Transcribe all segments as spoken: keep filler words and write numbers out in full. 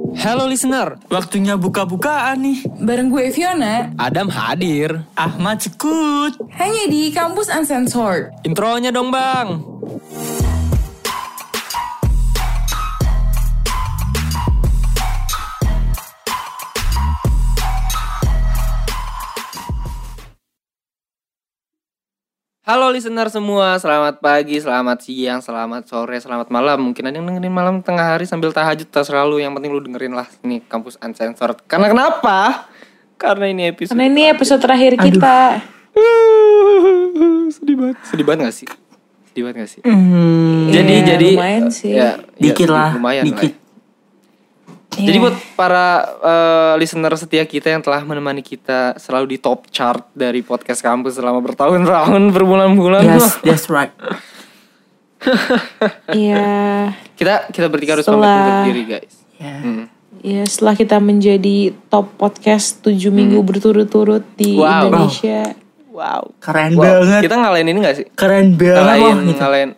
Halo listener, waktunya buka-bukaan nih. Bareng gue Fiona, Adam hadir, Ahmad sekut. hanya di Kampus Uncensored. Intronya dong bang. Halo listener semua, selamat pagi, selamat siang, selamat sore, selamat malam. Mungkin ada yang dengerin malam tengah hari sambil tahajud, terserah lu. Yang penting lu dengerin lah ini Kampus Uncensored. Karena kenapa? Karena ini episode Karena ini episode terakhir kita. Sedih banget. Sedih banget gak sih? Sedih banget gak sih? Hmm, jadi ya, jadi lumayan sih. Ya, dikit ya, lah, lumayan dikit. lah. Jadi buat para uh, listener setia kita yang telah menemani kita selalu di top chart dari podcast kampus selama bertahun-tahun, berbulan-bulan. Yes, that's right. Iya. kita kita bertiga harus Setelah- pamit undur diri, guys. Yeah. Hmm. Ya, setelah kita menjadi top podcast tujuh minggu berturut-turut di Wow. Indonesia. Wow. Keren Wow. banget. Kita ngalahin ini gak sih? Keren banget. Ngalahin, Wah, gitu. ngalahin.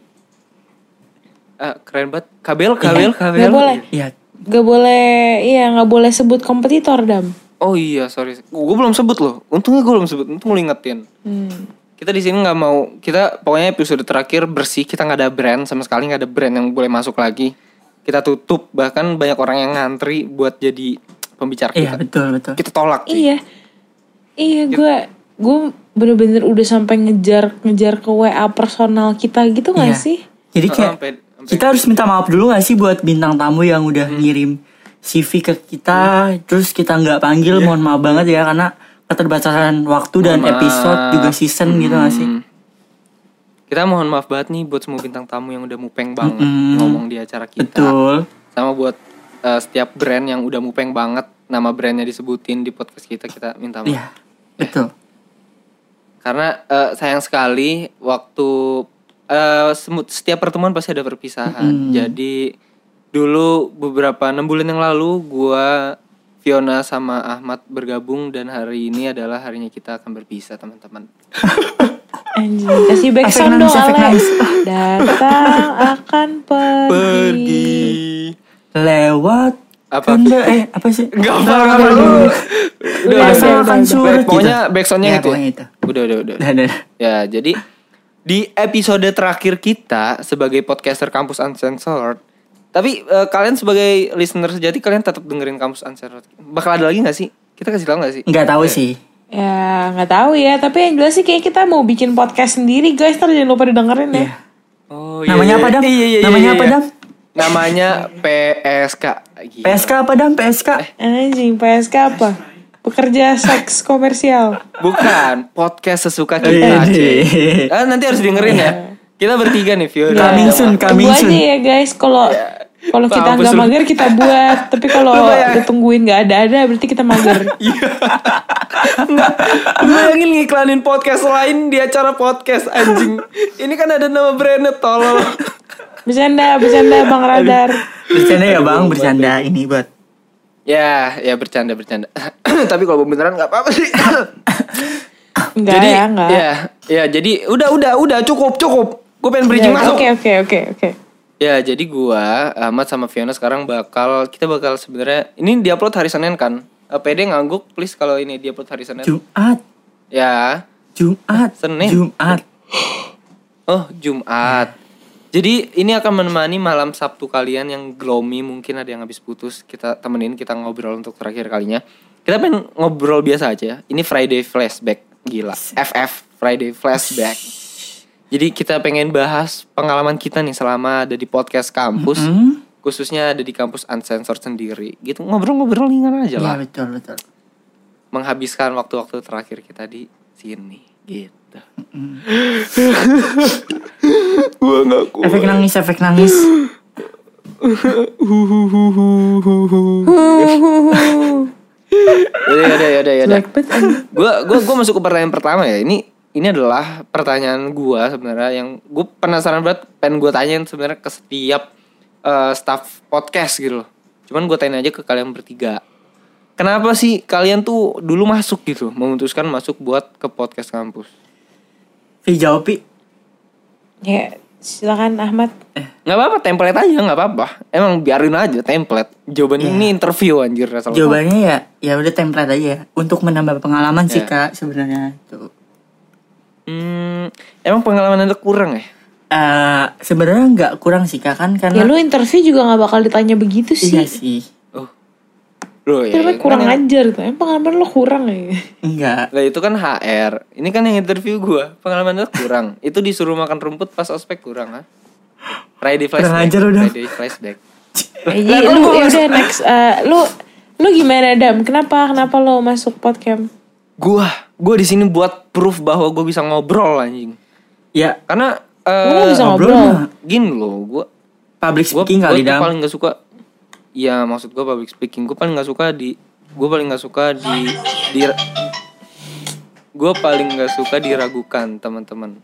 Ah, keren banget. Kabel, kabel, kabel. Gak boleh. Iya. Gak boleh, iya gak boleh sebut kompetitor, Dam. Oh iya, sorry. Gue belum sebut loh. Untungnya gue belum sebut. Untung lu ingetin. Hmm. Kita di sini nggak mau. Kita pokoknya episode terakhir bersih. Kita nggak ada brand sama sekali, nggak ada brand yang boleh masuk lagi. Kita tutup. Bahkan banyak orang yang ngantri buat jadi pembicara Iya, kita. betul, betul. Kita tolak. cuy. Iya. Iya, gue gue bener-bener udah sampai ngejar ngejar ke W A personal kita gitu gak Iya. sih? Jadi Oh, kayak sampai- sampai- kita harus minta maaf dulu gak sih buat bintang tamu yang udah Hmm. ngirim C V ke kita, terus kita nggak panggil, Iya. mohon maaf banget ya karena keterbatasan waktu dan Mohon episode maaf. juga season gitu gak sih? Hmm. Kita mohon maaf banget nih buat semua bintang tamu yang udah mupeng banget Mm-mm. ngomong di acara kita. Betul. Sama buat uh, setiap brand yang udah mupeng banget, nama brandnya disebutin di podcast kita, kita minta maaf. Iya, betul. Karena uh, sayang sekali waktu uh, semu- setiap pertemuan pasti ada perpisahan. Mm. Jadi dulu beberapa enam bulan yang lalu gua, Fiona sama Ahmad bergabung dan hari ini adalah harinya kita akan berpisah, teman-teman. Anjing, kasih back Efek sound dong, nangis, efek Alex. nangis. Datang akan pergi. Lewat Apa? tenda, eh apa sih? Enggak Udah, apa-apa udah, lu. udah. Udah, udah, Rasa udah, akan udah. surut Pokoknya gitu. backsoundnya Ya, itu. pokoknya ya? itu. Udah, udah, udah. Udah, udah. Ya, jadi di episode terakhir kita sebagai podcaster Kampus Uncensored. Tapi eh, kalian sebagai listener sejati, kalian tetap dengerin Kampus Uncensored. Bakal ada lagi gak sih? Kita kasih tahu gak sih? Nggak tahu sih. Ya nggak tahu ya, tapi yang jelas sih kayak kita mau bikin podcast sendiri, guys. Ntar jangan lupa didengerin ya. Iya. Oh, Namanya apa, Dam? Iya, iya, iya, Namanya iya, apa, iya. Dam? Namanya P S K. Gila. P S K apa, Dam? P S K? Anjing, P S K apa? Pekerja seks komersial. Bukan, podcast sesuka kita. Iya, cuy. iya. Ah, nanti harus dengerin ya. Kita bertiga nih, Fiona. Coming Ya, soon, coming tunggu soon. aja ya guys. Kalau kalau kita Mampus nggak lu. mager kita buat. Tapi kalau Lu bayangin. ditungguin nggak ada-ada berarti kita mager. Enggak, lu bayangin ngiklanin podcast lain di acara podcast, anjing. Ini kan ada nama brandnya, tolol. Bercanda, bercanda Bang Radar. Bercanda ya, Bang, bercanda ini buat. Ya, ya bercanda bercanda. Tapi kalau beneran nggak apa-apa sih. Enggak jadi, ya, enggak. ya, ya, jadi udah, udah, udah cukup, cukup. Gue pengen bridging masuk. Oke, oke, oke, oke. Ya, jadi gua, Ahmad sama Fiona sekarang bakal kita bakal sebenarnya ini diupload hari Senin kan. Eh, P D ngangguk please kalau ini diupload hari Senin. Jumat, Ya. Jumat, Senin. Jumat. Oh, Jumat. Jadi ini akan menemani malam Sabtu kalian yang gloomy, mungkin ada yang habis putus. Kita temenin, kita ngobrol untuk terakhir kalinya. Kita pengen ngobrol biasa aja. Ini Friday Flashback, gila. F F Friday Flashback. Jadi kita pengen bahas pengalaman kita nih selama ada di podcast kampus, Mm-hmm. khususnya ada di Kampus Uncensored sendiri. Gitu ngobrol-ngobrol ringan aja Iya, lah. betul, betul. Menghabiskan waktu-waktu terakhir kita di sini, gitu. Gua nggak kuat. Efek nangis, efek nangis. Yaudah, yaudah, yaudah, yaudah. Jelek banget, anjing. Gue gue gue masuk ke pertanyaan pertama ya. Ini ini adalah pertanyaan gue sebenarnya yang gue penasaran banget, pengen gue tanyain sebenarnya ke setiap uh, staff podcast gitu loh. Cuman gue tanya aja ke kalian bertiga. Kenapa sih kalian tuh dulu masuk gitu, memutuskan masuk buat ke podcast kampus? Vi jawab, Pi. Ya, Silakan Ahmad. Nggak apa-apa, template aja, nggak apa-apa. Emang biarin aja template. Jawabannya Yeah. ini interview anjir asal. Jawabannya ya ya udah template aja ya. Untuk menambah pengalaman sih Yeah. Kak sebenarnya itu. Hmm, emang pengalaman Anda kurang ya? Eh sebenarnya nggak kurang sih Kak kan Ya karena lu interview juga gak bakal ditanya begitu sih. iya sih. Oh. Loh Itu ya. namanya kan kurang yang- ajar tuh. Emang pengalaman lu kurang ya. Enggak. Lah itu kan H R. Ini kan yang interview gua. Pengalaman Anda kurang. Itu disuruh makan rumput pas ospek kurang, ha? Friday flashback. Kurang ajar udah. Friday flashback. Jadi lu ya udah next. Uh, lu lu gimana Dam? Kenapa kenapa lu masuk podcast? Gua, gua di sini buat proof bahwa gua bisa ngobrol anjing. Ya Karena Lu eh bisa ngobrol ngobrol. mah gini loh, gua public gua, speaking gua kali tuh Dam. paling gak suka. Ya maksud gua public speaking. Gua paling gak suka di gua paling gak suka di di gua paling gak suka diragukan, teman-teman.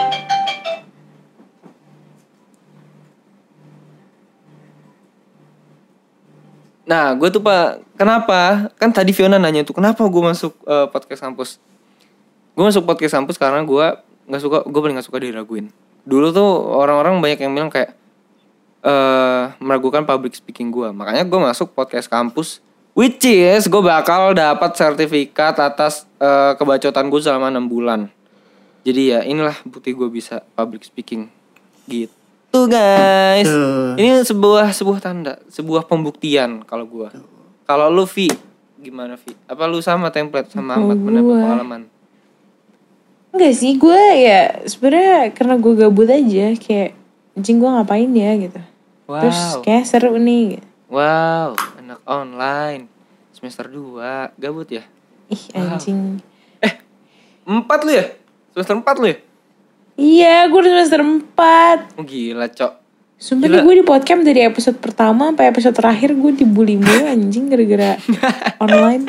Nah, gue tuh pak, kenapa? Kan tadi Fiona nanya tuh, kenapa gue masuk eh, podcast kampus? Gue masuk podcast kampus karena gue nggak suka, gue paling nggak suka diraguin. Dulu tuh orang-orang banyak yang bilang kayak eh meragukan public speaking gue, makanya gue masuk podcast kampus, which is gue bakal dapat sertifikat atas eh, kebacotan gue selama enam bulan. Jadi ya inilah bukti gue bisa public speaking, gitu. Tuh guys, Tuh. ini sebuah sebuah tanda, sebuah pembuktian kalau gua. Kalau lu Vi, gimana Vi? Apa lu sama template sama Kalau Ahmad mendapat gua- pengalaman? Enggak sih, gue ya sebenarnya karena gue gabut aja kayak anjing gue ngapain ya gitu. Terus Wow, kayak seru nih. Gitu. wow, anak online semester dua, gabut ya? Ih anjing. Empat lu ya? Semester empat lu ya? Iya, gue udah semester empat. Oh, gila cok. Sumpah Gila. nih gue di podcast dari episode pertama sampai episode terakhir gue dibully mulu anjing gara-gara online.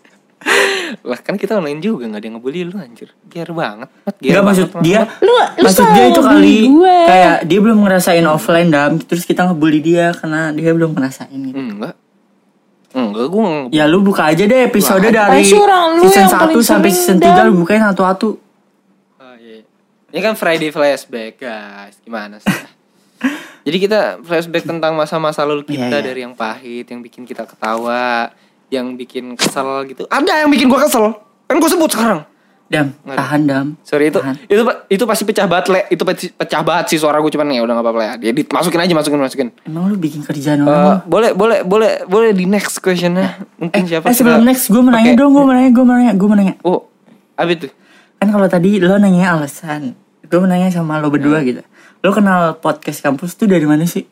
Lah kan kita online juga, nggak ada yang ngebully lu anjir. Gier banget, Mat. Gier Enggak maksud banget, dia. Mat. Lu lu Maksud selalu dia itu ngebully kali gue. kayak dia belum ngerasain offline Dam. Terus kita ngebully dia karena dia belum ngerasain gitu. Enggak. Enggak, gue nggak Ya lu buka aja deh episode Wah, dari pasti orang lu season yang satu paling sampai sering, season tiga Dam. lu bukain satu-satu. Oh, iya. Ini kan Friday flashback guys, gimana sih? Jadi kita flashback tentang masa-masa lalu kita Iya, iya. dari yang pahit, yang bikin kita ketawa, yang bikin kesel gitu. Ada yang bikin gua kesel, kan gua sebut sekarang. Dam, Nggak ada. tahan Dam. Sorry itu, Tahan. itu itu pasti pecah banget le, itu pe- pecah banget sih suara gua, cuman ya udah nggak apa-apa ya. Dia dimasukin aja, masukin masukin. Emang lu bikin kerjaan Eh, orang. boleh boleh boleh boleh di next questionnya mungkin siapa? Eh sebelum Coba next gue mau nanya pakai- dong, gue mau nanya, gue mau nanya, gue mau nanya. Oh, apa itu? Kan kalau tadi lo nanya alasan, gue mau nanya sama lo berdua gitu. Lo kenal podcast kampus tuh dari mana sih?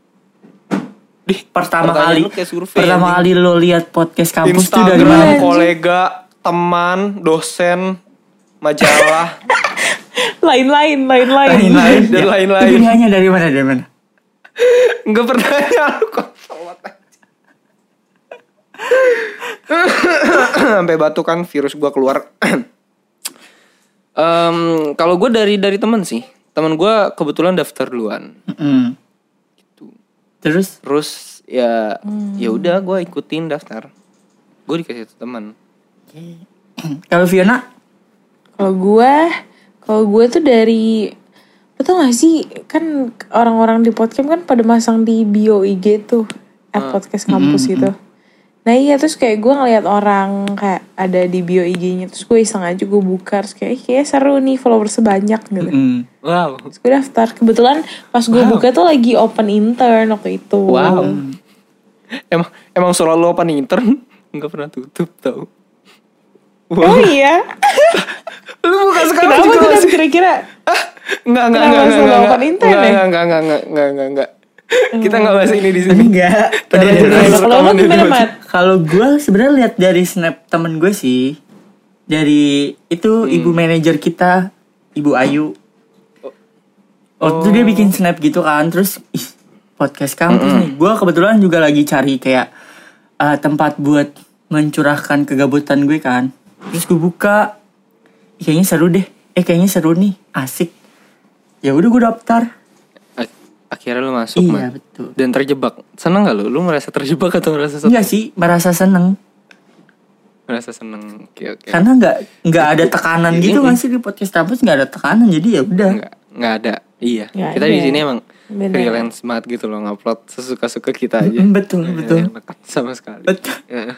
Dih, Pertama pertanyaan kali, lu kayak survei, pertama anjing. kali lo lihat podcast kampus tuh dari Instagram, mana? kolega, teman, dosen, majalah, Lain-lain, lain-lain. lain-lain dan Ya, Lo lain-lain. pilihannya dari mana dari mana? Enggak pernah ya lu kok sholat aja. Sampai batukan virus gua keluar. Em, kalau gue dari dari teman sih, teman gua kebetulan daftar duluan. Mm. Terus? Terus ya ya udah gue ikutin daftar. Gue dikasih satu teman. Kalau Fiona? Kalau gue, kalau gue tuh dari, lo tau gak sih kan orang-orang di podcast kan pada masang di bio I G tuh, at podcast kampus gitu. Nah iya terus kayak gue ngeliat orang kayak ada di bio I G-nya, terus gue iseng aja gue buka, terus kayak kayak seru nih followersnya banyak gitu. Mm. Wow. Terus gue daftar, kebetulan pas gue buka tuh lagi open intern waktu itu. Wow. Emang emang selalu open intern nggak pernah tutup tau. Oh iya. Lu buka sekarang Kenapa juga tuh Dan masih. kira-kira? Enggak enggak Kenapa enggak selalu enggak open intern enggak ya? enggak enggak enggak enggak enggak enggak enggak. Kita enggak bahas ini di sini. Enggak. Tadi Udah, aja udah. udah. Kalau lo gimana Mat? Kalau gue sebenarnya lihat dari snap temen gue sih, dari itu ibu manajer kita, Ibu Ayu. Oh, itu dia bikin snap gitu kan, terus ih, podcast kampus nih. Gue kebetulan juga lagi cari kayak eh, tempat buat mencurahkan kegabutan gue kan. Terus gue buka, ih, kayaknya seru deh. Eh kayaknya seru nih, asik. Ya udah gue daftar. Ak- Akhirnya lu masuk Iya, man. betul. Dan terjebak. Seneng gak lu? Lu merasa terjebak atau merasa seneng? Enggak sih, merasa seneng. Merasa seneng. Oke oke. Karena nggak nggak ada tekanan Ini- gitu ini- kan sih di podcast kampus, nggak ada tekanan, jadi ya udah. Enggak nggak ada. Iya. Nggak Kita ada. di sini emang Bener. freelance banget gitu loh, ngupload sesuka-suka kita aja. Mm, betul, Ya, betul. yang dekat sama sekali. Betul. Ya.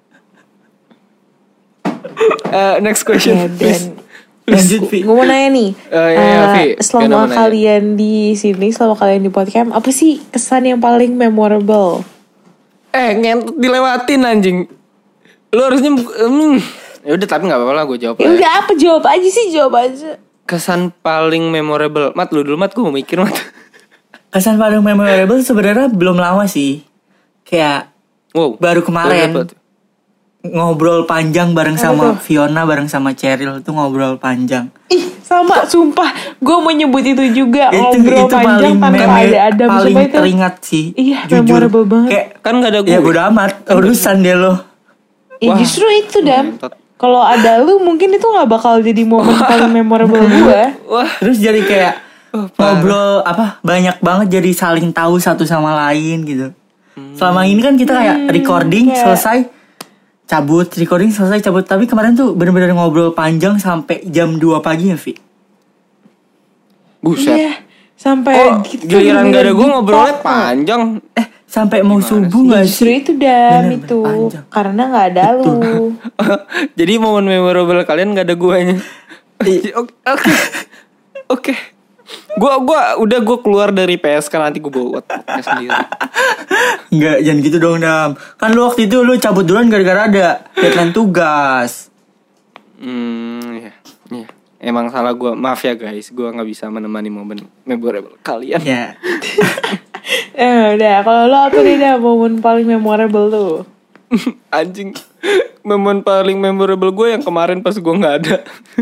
Eh, next question. Ya, dan Lanjut, Vi. gue mau nanya nih, Oh, iya, iya, eh, Vi. selama Gimana mau nanya? kalian di sini, selama kalian di podcast, apa sih kesan yang paling memorable? Eh, ngentot dilewatin anjing. Lu harusnya hmm. Ya udah, tapi enggak apa-apa lah, gue jawab Ya lah. udah, apa jawab aja sih, jawab aja. Kesan paling memorable. Mat, lu dulu Mat, gue mau mikir Mat. Kesan paling memorable sebenarnya belum lama sih. Kayak Wow. baru kemarin Apa tuh? ngobrol panjang bareng Apa sama tuh? Fiona, bareng sama Cheryl tuh ngobrol panjang. Ih, sama, sumpah. Gue mau nyebut itu juga, itu ngobrol itu panjang paling tanpa meme- ada Adam. paling Sumpah itu. teringat sih. Iya, jujur. memorable banget. Kayak Kan gak ada gue. ya bodo amat, urusan dia lo. Ya Wah, justru itu, Dam. ngentot. Kalau ada lu, mungkin itu gak bakal jadi momen paling memorable gue. Wah. Terus jadi kayak Oh, parah. ngobrol apa banyak banget, jadi saling tahu satu sama lain gitu. Selama ini kan kita kayak recording kayak- selesai cabut, recording selesai cabut. Tapi kemarin tuh bener-bener ngobrol panjang sampai jam dua pagi ya, Vi. Buset. Iya, sampai Oh, gitu. giliran gak ada gue bener-bener ngobrolnya deep talk. panjang. Eh, sampai mau subuh gak Justru sih? itu Dam, Bener-bener itu panjang. karena gak ada lu. Jadi momen memorable kalian gak ada guanya. Oke. Oke. Oke. Gua gua udah gua keluar dari P S K, nanti gua bawa podcast sendiri. Enggak, jangan gitu dong, Dam. Kan lu waktu itu lu cabut duluan gara-gara ada deadline tugas. Hmm, ya. Iya. Emang salah gua. Maaf ya guys, gua nggak bisa menemani momen memorable kalian. Ya. Eh udah, kalau lo apa nih Dam, momen paling memorable tuh? Anjing. Momen paling memorable gue yang kemarin pas gua nggak ada.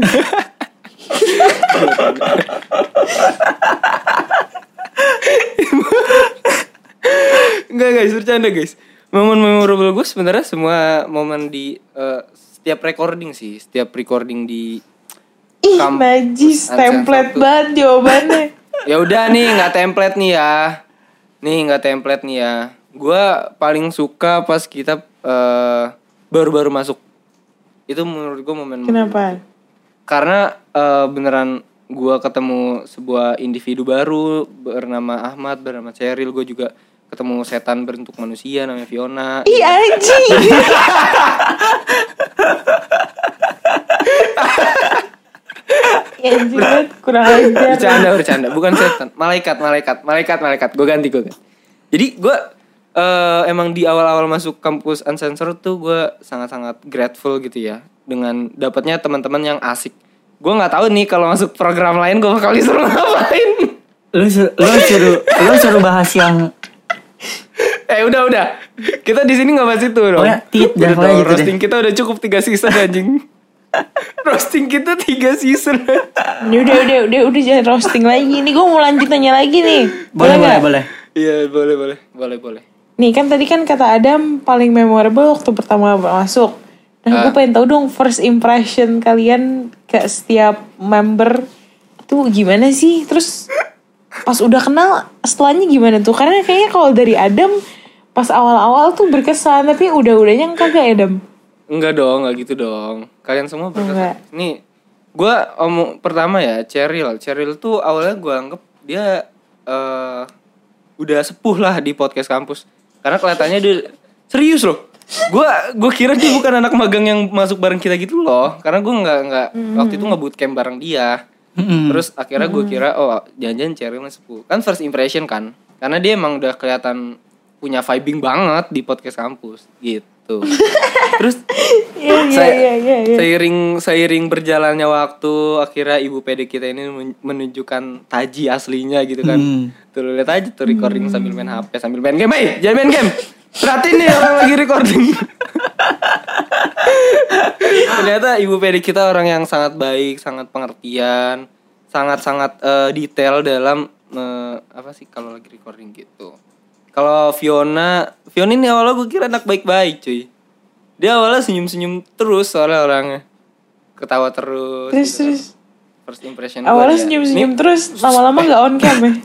Enggak guys, bercanda guys. Momen memorable gue sebenarnya semua momen di eh, setiap recording sih, setiap recording di Ih, kampus najis, Uncensored template tuh. banget jawabannya. Ya udah nih, nggak template nih ya. Nih nggak template nih ya. Gue paling suka pas kita eh, baru-baru masuk. Itu menurut gue momen. Kenapa? Karena eh, beneran gue ketemu sebuah individu baru bernama Ahmad, bernama Cheryl. Gue juga ketemu setan berbentuk manusia namanya Fiona. Ih anjing. Ya anjing banget, kurang ajar. Bercanda, bercanda. Bukan setan. Malaikat, malaikat, malaikat, malaikat. Gue ganti, gue ganti. Jadi gue uh, emang di awal-awal masuk kampus Uncensored tuh gue sangat-sangat grateful gitu ya. Dengan dapatnya teman-teman yang asik. Gue gak tahu nih kalau masuk program lain gue bakal disuruh ngapain. Lu suruh, lu suruh, lu suruh bahas yang Eh udah, udah. Kita di sini gak bahas itu dong. Pokoknya tit, Udah dah, pokoknya dong, gitu deh. roasting kita udah cukup tiga season anjing. Roasting kita tiga season. Ini udah, udah, udah, udah jangan roasting lagi. Ini gue mau lanjut nanya lagi nih. boleh, boleh, nggak? boleh. Iya boleh, boleh. Boleh, boleh. Nih kan tadi kan kata Adam paling memorable waktu pertama masuk. Nah gue Ah. pengen tahu dong first impression kalian ke setiap member tuh gimana sih? Terus pas udah kenal setelahnya gimana tuh? Karena kayaknya kalau dari Adam pas awal-awal tuh berkesan, tapi udah-udahnya kagak ya Adam? Enggak dong, enggak gitu dong. Kalian semua berkesan. Enggak. Nih, gue omong pertama ya, Cheryl. Cheryl tuh awalnya gue anggap dia eh udah sepuh lah di podcast kampus. Karena kelihatannya dia serius loh. Gue gue kira dia bukan anak magang yang masuk bareng kita gitu loh. Karena gue nggak nggak waktu itu nggak bootcamp bareng dia. Mm-mm. Terus akhirnya gue kira oh jangan-jangan Cheryl sepuh. Kan first impression kan. Karena dia emang udah kelihatan punya vibing banget di podcast kampus gitu. Terus Iya iya saya- iya iya. iya. seiring seiring berjalannya waktu akhirnya ibu P D kita ini men- menunjukkan taji aslinya gitu kan. Hmm. Tuh lu lihat aja tuh recording sambil main H P sambil main game. Eh, jangan main game. Perhatiin nih orang lagi recording. Ternyata ibu P D kita orang yang sangat baik, sangat pengertian, sangat-sangat eh, detail dalam eh, apa sih kalau lagi recording gitu. Kalau Fiona, Fiona ini awalnya gue kira anak baik-baik cuy. Dia awalnya senyum-senyum terus soalnya orangnya. Ketawa terus. Terus gitu. terus First impression gua awalnya dia. senyum-senyum Nih, terus lama-lama nggak on cam ya?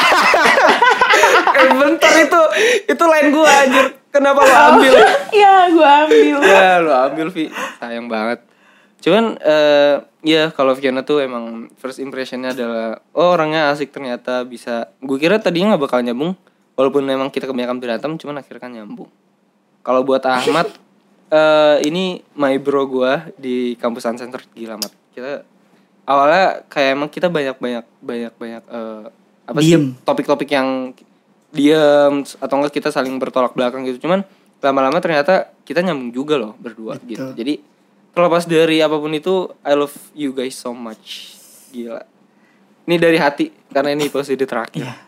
eh, bentar itu itu lain gue anjir. Kenapa lo ambil? Iya gue ambil. Ya lo ambil Vi. Sayang banget. Cuman uh, ya kalau Fiona tuh emang first impressionnya adalah oh orangnya asik ternyata bisa. Gue kira tadinya nggak bakal nyambung, walaupun memang kita kebanyakan berantem, cuman akhirnya kan nyambung. Kalau buat Ahmad, uh, ini my bro gue di kampus Uncenter gila amat. Kita awalnya kayak emang kita banyak banyak banyak banyak uh, apa diem. sih topik-topik yang diem atau enggak kita saling bertolak belakang gitu. Cuman lama-lama ternyata kita nyambung juga loh berdua. Betul. Gitu. Jadi terlepas dari apapun itu, I love you guys so much. Gila. Ini dari hati karena ini episode terakhir. Yeah.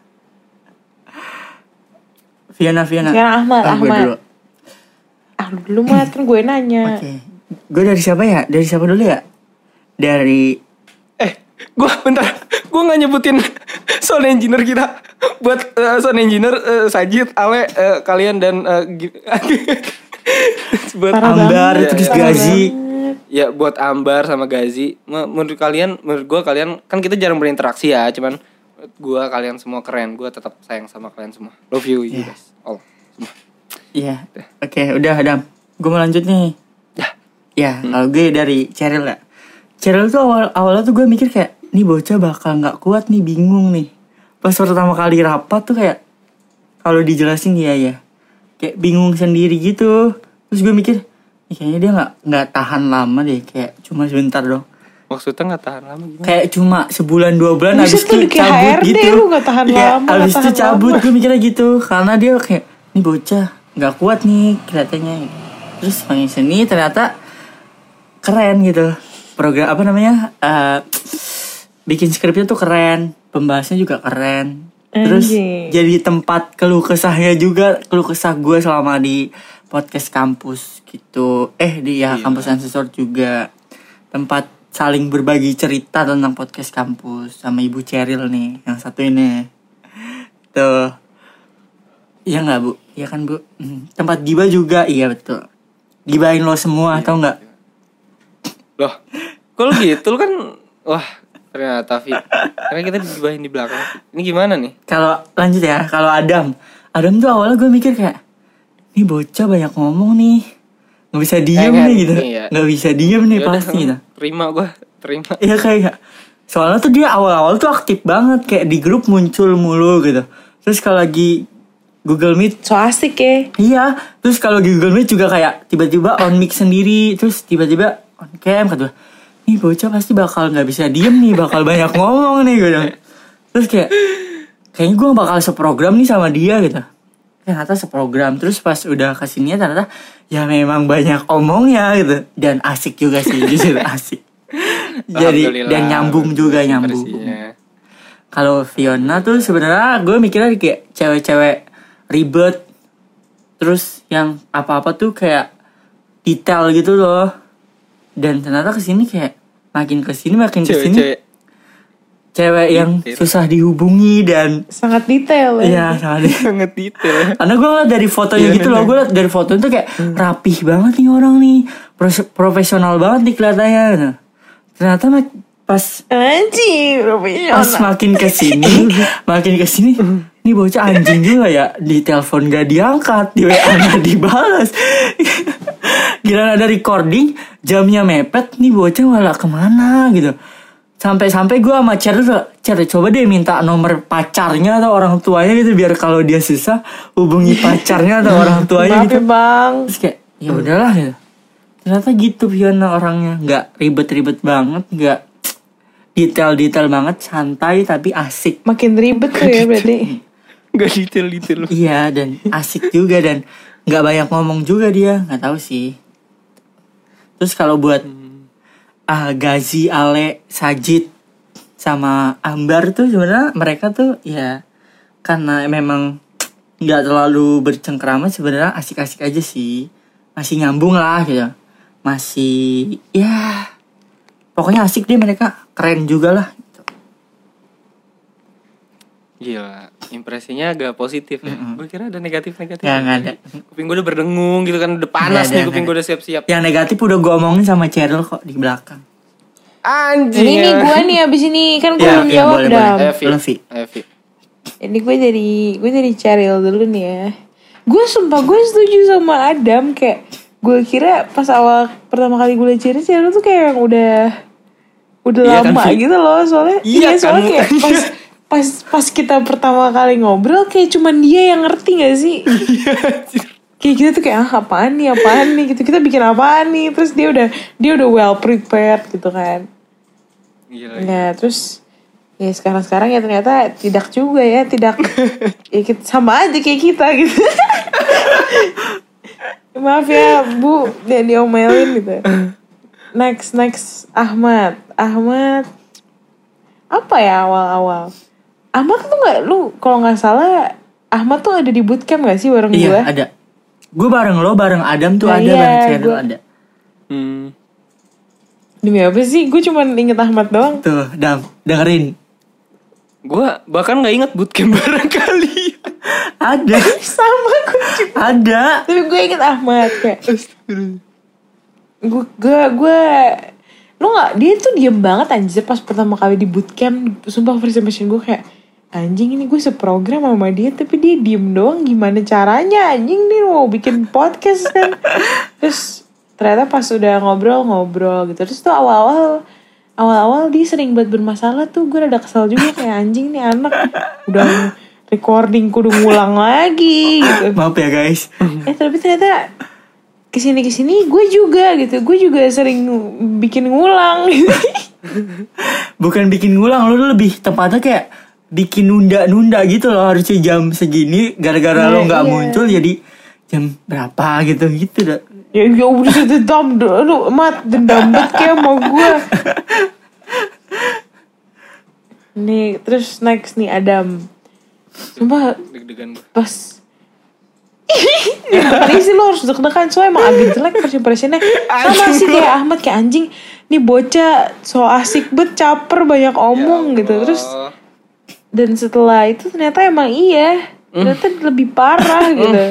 Fiona, Fiona. Sekarang Ahmad, ah, Ahmad. Dulu. Ah, lu dulu mah kan gue nanya. Oke. Okay. Gue dari siapa ya? Dari siapa dulu ya? Dari eh, gue bentar. Gue nggak nyebutin sound engineer kita. Buat uh, sound engineer uh, Sajid, Ale, uh, kalian dan uh, buat Parah Ambar banget. terus Ya, Gazi. Ya buat Ambar sama Gazi. Menurut kalian, menurut gue kalian kan kita jarang berinteraksi ya, cuman gue kalian semua keren. Gue tetap sayang sama kalian semua. Love you, you Yeah. guys. All semua. Iya. Oke, okay, udah Adam. Gue mau lanjut nih. Ya. Ya, hmm. kalau gue dari Cheryl ya. Cheryl tuh awal awalnya tuh gue mikir kayak nih bocah bakal nggak kuat nih, bingung nih. Pas pertama kali rapat tuh kayak kalau dijelasin ya ya kayak bingung sendiri gitu. Terus gue mikir kayaknya dia nggak nggak tahan lama deh, kayak cuma sebentar dong. Maksudnya nggak tahan lama gimana? Kayak cuma sebulan dua bulan Maksud habis itu kayak cabut H R D, gitu. lu gak tahan Ya, lama, habis gak itu tahan cabut, lama. gue mikirnya gitu. Karena dia kayak nih bocah nggak kuat nih kelihatannya. Terus makin sini ternyata keren gitu. Program apa namanya? Uh, bikin skripnya tuh keren, pembahasannya juga keren. Terus Anjing. jadi tempat keluh kesahnya juga, keluh kesah gue selama di podcast kampus gitu. Eh di ya Iya. kampus Ancestor juga tempat saling berbagi cerita tentang podcast kampus sama Ibu Cheryl nih, yang satu ini. Tuh. Iya nggak Bu? Iya kan Bu? Hmm. Tempat gibah juga, iya betul. Gibahin lo semua, Iya, tau nggak? Loh, kalau gitu lu kan wah ternyata Fi. Karena kita digibahin di belakang. Ini gimana nih? Kalau lanjut ya, kalau Adam, Adam tuh awalnya gue mikir kayak, nih bocah banyak ngomong nih, nggak bisa diem Eh, nih gitu, iya. nggak bisa diem nih Yaudah, pasti gitu. Terima gue, terima. Iya kayak, soalnya tuh dia awal-awal tuh aktif banget, kayak di grup muncul mulu gitu. Terus kalau lagi Google Meet, So asik ya. iya. Terus kalau di Google Meet juga kayak tiba-tiba on mic sendiri, terus tiba-tiba on cam kata gue, nih bocah pasti bakal nggak bisa diem nih, bakal banyak ngomong nih gitu. Terus kayak, kayaknya gue bakal seprogram nih sama dia gitu. Ternyata seprogram. Terus pas udah kesininya ternyata ya memang banyak omongnya gitu. Dan asik juga sih, justru asik. Jadi Alhamdulillah, dan nyambung juga nyambung. versinya. Kalau Fiona tuh sebenarnya gue mikirnya kayak cewek-cewek ribet, terus yang apa-apa tuh kayak detail gitu loh. Dan ternyata kesini kayak makin kesini makin kesini Cewek-cewek cewek yang Detail. susah dihubungi dan Sangat detail ya. iya sangat. sangat detail. Karena gue ngeliat dari fotonya Iya, gitu iya. loh, gue liat dari fotonya tuh kayak rapih banget nih orang nih, Pros- profesional banget nih kelihatannya. Nah, ternyata mak- pas Anjing, pas profesional. makin kesini, makin kesini, ini bocah anjing juga ya, di telepon gak diangkat, di W A gak dibalas. Gila ada recording, jamnya mepet, nih bocah malah kemana gitu. Sampai-sampai gue sama Cher tuh, Cer coba deh minta nomor pacarnya atau orang tuanya gitu, biar kalau dia susah hubungi pacarnya atau orang tuanya Maaf gitu. ya bang. Terus kayak ya udahlah gitu. Ternyata gitu Fiona orangnya, nggak ribet-ribet banget, nggak detail-detail banget, santai tapi asik. Makin ribet tuh ya berarti. Gak detail-detail. Iya, dan asik juga, dan nggak banyak ngomong juga dia, nggak tahu sih. Terus kalau buat ah Gazi, Ale, Sajid sama Ambar tuh sebenarnya mereka tuh ya karena memang nggak terlalu bercengkrama, sebenarnya asik-asik aja sih, masih nyambung lah gitu, masih ya pokoknya asik deh, mereka keren juga lah. Gila, impresinya agak positif ya. Mm-mm. Gue kira ada negatif-negatif. Nggak, nggak ada. Kuping gue udah berdengung gitu kan, udah panas Nggak ada, nih kuping nggak gue udah siap-siap. Yang negatif udah gue omongin sama Cheryl kok di belakang. Anjing. Ini nih gue nih abis ini kan gue Ya, belum ya, jawab boleh, Dam. boleh. Evi. Levi. Evi. Ini gue dari gue dari Cheryl dulu nih ya. Gue sumpah gue setuju sama Adam, kayak gue kira pas awal pertama kali gue liat Ciri-Ciri lu tuh kayak yang udah udah Iya lama kan, gitu loh soalnya. Iya Iya soalnya kan, kayak mukanya. pas pas pas kita pertama kali ngobrol kayak cuman dia yang ngerti gak sih? Kayak kita tuh kayak ah apaan nih apaan nih gitu, kita bikin apaan nih, terus dia udah dia udah well prepared gitu kan. Gila, Nah terus ya sekarang-sekarang ya ternyata tidak juga ya, tidak ya kita, sama aja kayak kita gitu. Maaf ya Bu, jangan diomelin gitu. Next next Ahmad, Ahmad apa ya awal-awal? Ahmad tuh nggak, lu kalau nggak salah Ahmad tuh ada di bootcamp nggak sih bareng Iya gue? ada. Gue bareng lo, bareng Adam tuh Nah, ada, iya, bareng Cheryl gua- ada. Hmm. Demi apa sih? Gue cuma inget Ahmad doang. Tuh, Dam, dengerin. Gue bahkan nggak ingat bootcamp bareng kali. Ada, Sama gue juga. ada. Tapi gue inget Ahmad kayak. Gue gue gue lu nggak, dia tuh diem banget anjir pas pertama kali di bootcamp. Sumpah first impression gue kayak anjing ini gue seprogram sama dia tapi dia diem doang, gimana caranya anjing nih mau bikin podcast kan. Terus ternyata pas udah ngobrol-ngobrol gitu, terus tuh awal-awal awal-awal dia sering buat bermasalah tuh gue rada kesel juga kayak anjing nih anak udah recording kudu ngulang lagi gitu. Maaf ya guys. Eh tapi ternyata kesini kesini gue juga gitu, gue juga sering bikin ngulang. Bukan bikin ngulang, lo lebih tepatnya kayak bikin nunda-nunda gitu loh, harusnya jam segini gara-gara Iya, lo nggak iya. muncul jadi jam berapa gitu gitu dah. Ya ya udah dendam, lu mat dendam banget kayak sama gue. Nih terus next nih Adam. Sumpah Deg-degan gue. pas ya bukan sih lo harus deg-degan soalnya emang agak jelek first impressionnya. Sama sih kayak Ahmad kayak anjing nih bocah so asik bet caper banyak omong gitu. Terus dan setelah itu ternyata emang iya ternyata lebih parah gitu.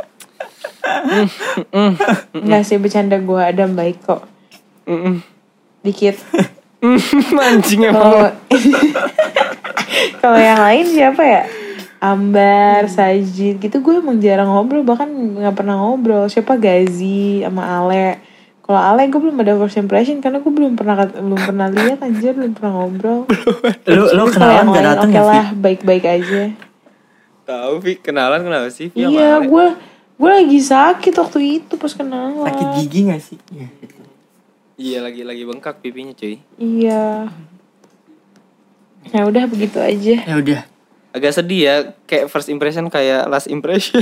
Nggak sih bercanda gue, Adam baik kok dikit. Anjing Kalau emang. kalau yang lain siapa ya? Ambar, Sajid gitu gue emang jarang ngobrol, bahkan nggak pernah ngobrol. Siapa Gazi sama Ale. Kalau Ale gue belum ada first impression karena gue belum pernah belum pernah lihat anjir, belum pernah ngobrol. Lo lo Kalau kenalan yang gak lain datang oke ya Vi? lah, baik-baik aja. Tahu Vi, kenalan kenapa sih? Vi sama Iya, Ale? gue gue lagi sakit waktu itu pas kenalan. Sakit gigi gak sih? Iya. Iya lagi lagi bengkak pipinya cuy. Iya. Ya udah begitu aja. Ya udah. Agak sedih ya, kayak first impression kayak last impression.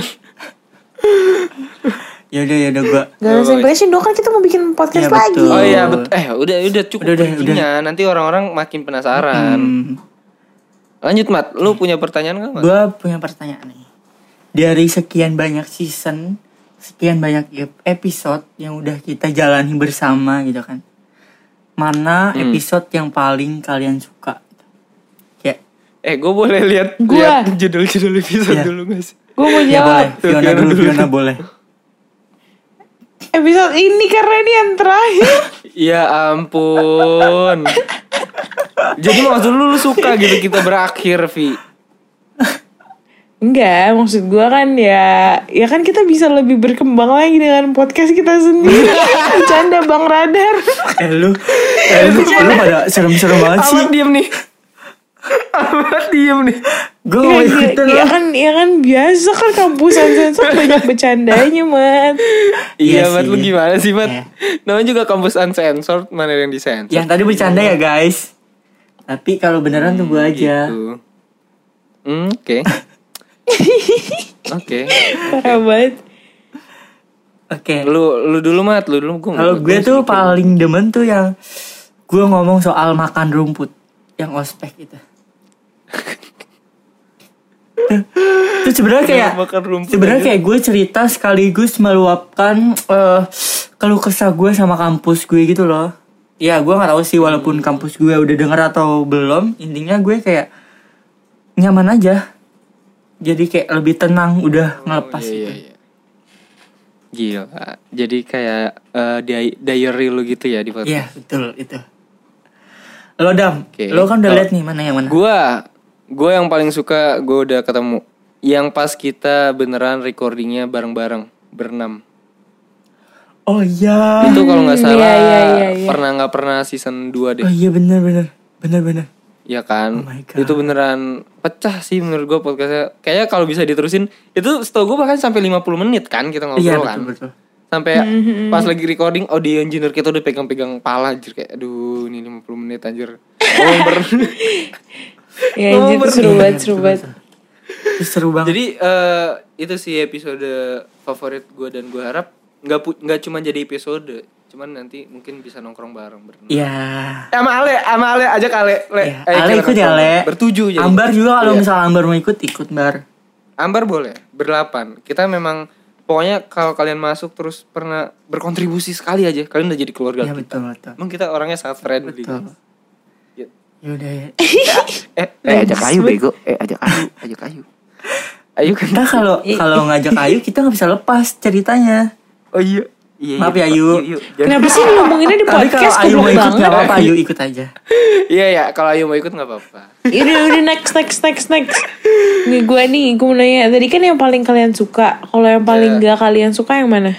Ya udah ya udah gua. Gak ada impression dong, kan kita mau bikin podcast Iya, lagi. betul. Oh iya betul. Eh udah udah cukup Udah, udah, bridgingnya. Nanti orang-orang makin penasaran. Hmm, Lanjut Mat, lu punya pertanyaan gak Mat? gua punya pertanyaan nih. Dari sekian banyak season, sekian banyak ep- episode yang udah kita jalani bersama gitu kan. Mana Hmm. episode yang paling kalian suka? Kayak Eh gue boleh lihat Gua. lihat judul-judul episode Iya. dulu gak sih? Gue mau ya boleh. jawab. Fiona Fiona dulu, dulu. Fiona boleh. Episode ini karena ini yang terakhir. Ya ampun. Jadi maksud lu, lu suka gitu kita berakhir Vi? Enggak, maksud gue kan ya, ya kan kita bisa lebih berkembang lagi dengan podcast kita sendiri. Bercanda Bang Radar. Eh lu, eh lu, lu pada serem-serem banget sih. Amat diem nih. Amat diem nih. Gue Ya, mau ya, ikutan ya lah. kan, ya kan biasa kan kampusan sensor banyak bercandanya, Mat. Iya Iya Mat, sih. lu gimana sih Mat? Iya. Namanya juga kampus uncensored, mana yang disensor? Yang tadi bercanda ya guys. Tapi kalau beneran tunggu aja. Gitu. Hmm, oke. Oke. Parah banget. Oke. Lu lu dulu Mat, lu dulu gua. Kalau gua gue masih tuh mikir. paling demen tuh yang gue ngomong soal makan rumput, yang ospek itu. Itu sebenarnya kayak Makan rumput sebenarnya aja. kayak gue cerita sekaligus meluapkan eh keluh kesah gue sama kampus gue gitu loh. Ya gue nggak tahu sih walaupun kampus gue udah denger atau belum, intinya gue kayak nyaman aja. Jadi kayak lebih tenang udah ngelepas Oh, iya, gitu. iya, iya. Gila. Jadi kayak eh, di- diary lu gitu ya di podcast. Iya betul itu. Lo Dam, Oke. lo kan udah Kalau lihat nih mana yang mana? Gua gua yang paling suka gua udah ketemu yang pas kita beneran recordingnya bareng-bareng berenam. Oh iya. Itu kalau nggak salah Iya, iya, iya, iya. pernah nggak pernah season dua deh. Oh iya benar benar. Benar benar. Ya kan, Oh my God. itu beneran pecah sih menurut gue podcastnya. Kayaknya kalau bisa diterusin, itu setahu gue bahkan sampai lima puluh menit kan kita ngobrol Iya kan. betul betul. Sampai pas lagi recording, audio engineer kita udah pegang-pegang pala anjir. Kayak aduh ini lima puluh menit anjir. Ngomong ber... Ya Ngomong anjir ber- seru banget, seru banget. Itu seru banget. Jadi eh, itu sih episode favorit gue dan gue harap nggak pu- nggak cuma jadi episode, cuman nanti mungkin bisa nongkrong bareng berenang. Iya. Eh, sama Ale, sama Ale ajak Ale. Le. Iya. Eh, Ale kita ikut ya nongkrong. Ale. Bertujuh jadi. Ambar juga kalau Iya. misal Ambar mau ikut ikut Bar. Ambar boleh, berdelapan. Kita memang pokoknya kalau kalian masuk terus pernah berkontribusi sekali aja, kalian udah jadi keluarga Iya kita. betul betul. Emang kita orangnya sangat friendly. Betul. Ya. Yaudah ya. Eh, eh ajak Ayu bego. Eh ajak Ayu, ajak Ayu. Ayu kan. Nah kalau kalau ngajak Ayu kita nggak bisa lepas ceritanya. Oh iya. Iya, Maaf iya. ya, Ayu. Yuk, yuk. Jangan- Kenapa sih ngomonginnya di Tapi kalau podcast Ayu mau goblok ikut banget? nggak apa-apa, Ayu ikut aja. Iya ya, kalau Ayu mau ikut nggak apa-apa. Udah udah next next next next. Nih gue nih, gue mau nanya. Tadi kan yang paling kalian suka. Kalau yang paling Ya. gak kalian suka yang mana?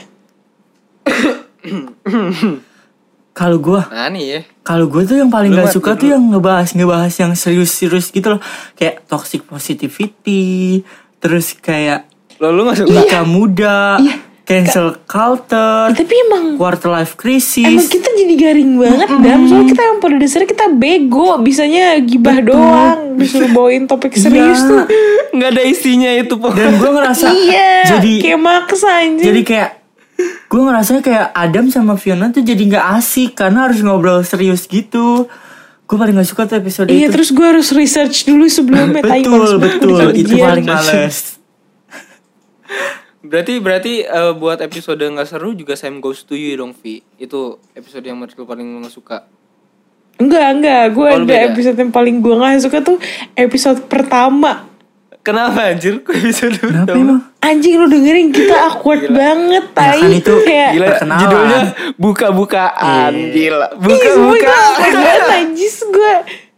Kalau gue, Nah nih ya. kalau gue tuh yang paling Lu, gak Mat, suka lu tuh yang ngebahas ngebahas yang serius-serius gitu loh, kayak toxic positivity, terus kayak Lo lu nggak suka? nikah muda, Iya. cancel culture, Ya, tapi emang quarter life Emang crisis. kita jadi garing banget dan soalnya kita yang pada dasarnya kita bego, bisanya gibah doang, disuruh bawain topik serius Iya. tuh. Nggak ada isinya itu po. Dan gue ngerasa Iya, jadi kayak maksa anjir. jadi kayak gue ngerasanya kayak Adam sama Fiona tuh jadi nggak asik karena harus ngobrol serius gitu. Gue paling gak suka tuh episode Iya, itu. terus gue harus research dulu sebelumnya. Tai, males betul banget betul ujian. itu paling males. Berarti berarti eh, buat episode nggak seru juga Sam Goes to You dong Vi. Itu episode yang menurut lo paling lo nggak suka. Enggak, enggak. Gue Oh, lu ada beda. episode yang paling gue gak suka tuh episode pertama. Kenapa anjir? Kok episode Kenapa pertama? emang? Anjing lu dengerin kita awkward banget, tai. kan itu kayak Gila, Perkenalan. judulnya buka-bukaan. Gila, Ih, semua itu buka-buka. awkward banget anjis gue.